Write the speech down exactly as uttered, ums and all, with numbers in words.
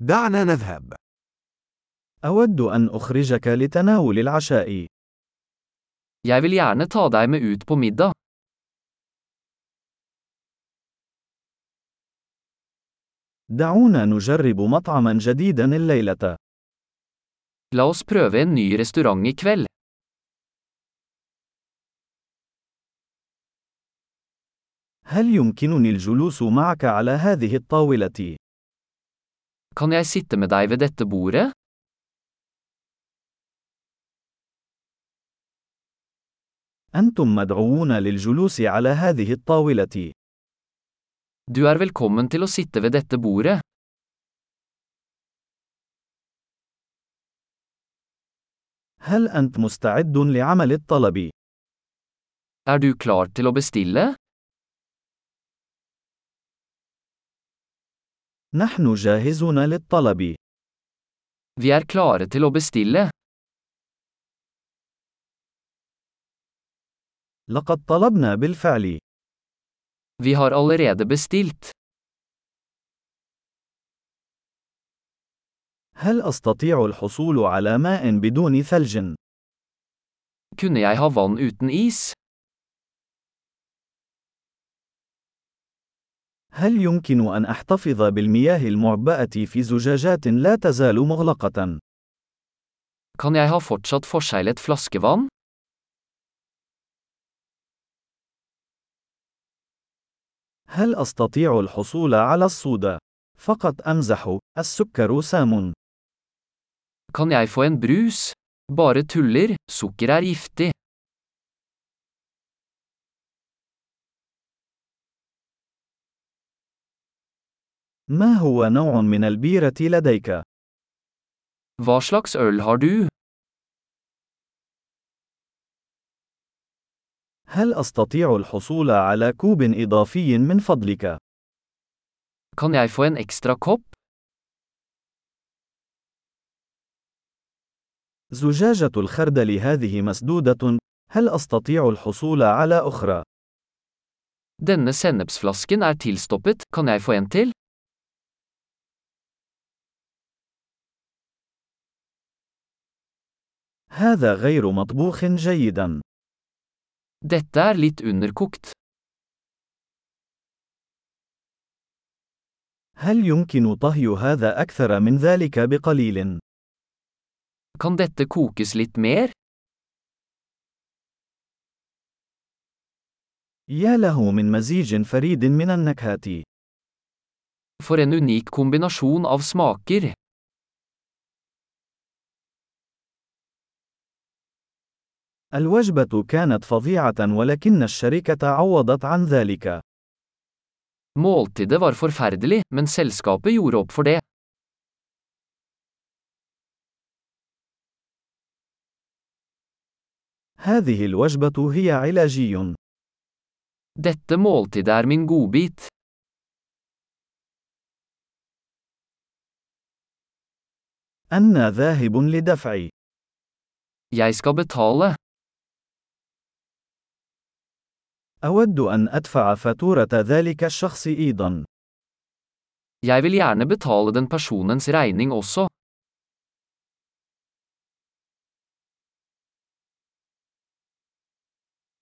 دعنا نذهب. أود أن أخرجك لتناول العشاء. Jeg vil gjerne ta deg med ut på middag. دعونا نجرب مطعما جديدا الليلة. La oss prøve en ny restaurant i kveld. هل يمكنني الجلوس معك على هذه الطاولة؟ Kan jeg sitte med deg ved dette bordet? أنتم مدعوون للجلوس على هذه الطاولة. Du er velkommen til å sitte ved dette bordet. هل أنت مستعد لعمل الطلب؟ Er du klar til å bestille? نحن جاهزون للطلب. Vi er klare til å bestille. لقد طلبنا بالفعل. Vi har allerede bestilt. هل أستطيع الحصول على ماء بدون ثلج؟ Kunne jeg ha vann uten is? هل يمكن أن أحتفظ بالمياه المعبأة في زجاجات لا تزال مغلقة؟ Kan jeg ha fortsatt forseglet flaskevann? هل أستطيع الحصول على الصودا؟ فقط أمزح، السكر سام. Kan jeg få en brus? Bare tuller, sukker er giftig. ما هو نوع من البيرة لديك؟ Hva slags øl har du? هل أستطيع الحصول على كوب إضافي من فضلك؟ Kan jeg få en ekstra kopp? زجاجة الخردل هذه مسدودة. هل أستطيع الحصول على أخرى؟ Denne sennepsflasken er tilstoppet, kan jeg få en til? هذا غير مطبوخ جيدا. Dette er litt underkokt. هل يمكن طهي هذا أكثر من ذلك بقليل؟ Kan dette kokes litt mer? يا له من مزيج فريد من النكهات. For en unik kombinasjon av smaker. الوجبة كانت فظيعة ولكن الشركة عوضت عن ذلك. Måltidet var forferdelig, men selskapet gjorde opp for det. هذه الوجبة هي علاجي. Dette måltidet er min godbit. أنا ذاهب لدفع. Jeg skal betale. أود أن أدفع فاتورة ذلك الشخص أيضا. Jeg vil gjerne betale den personens regning også.